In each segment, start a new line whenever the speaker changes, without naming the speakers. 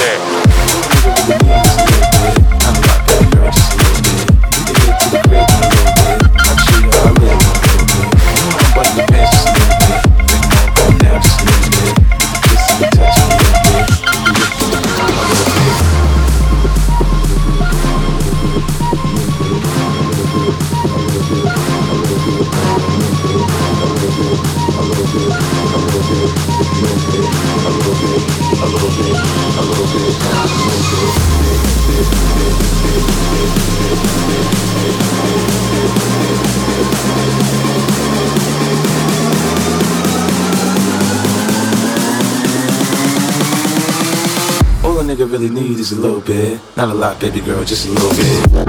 Nigga really need is a little bit, not a lot, baby girl, just a little bit.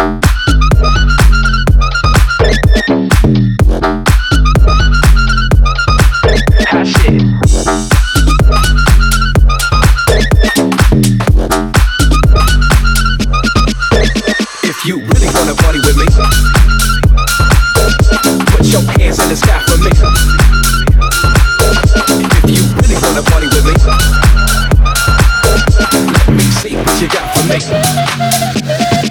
Hot shit. If you really wanna party with me, put your hands in the sky for me. If you really wanna party with me, let me see what you got for me.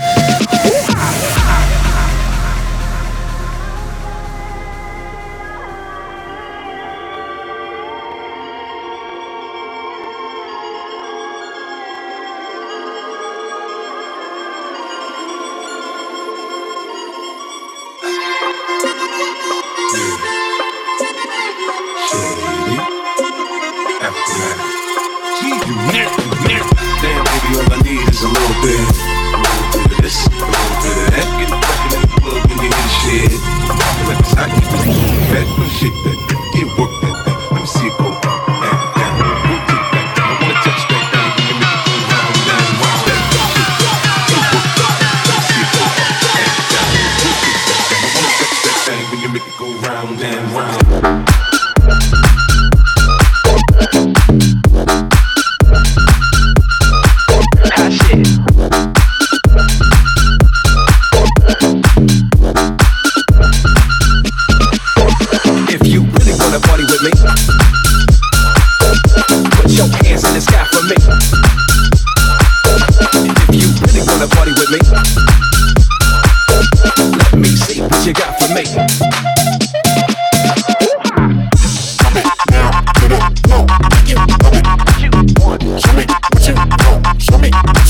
Damn, baby, all I need is a little bit of this, a little bit of that. Get crackin' in the club when you hear the shit. Let me start getting that shit, that get work that thing. Let me see it go down, down. We'll take that down. I wanna touch that thing when you make it go round, round, round. That shit, get work that thing. Let me see it go down, down. We'll take that down. I wanna touch that thing when you make it go round and round.
If you really wanna party with me, put your hands in the sky for me. If you really wanna party with me, let me see what you got for me.
Show me what you want. Show me what you want. Show me.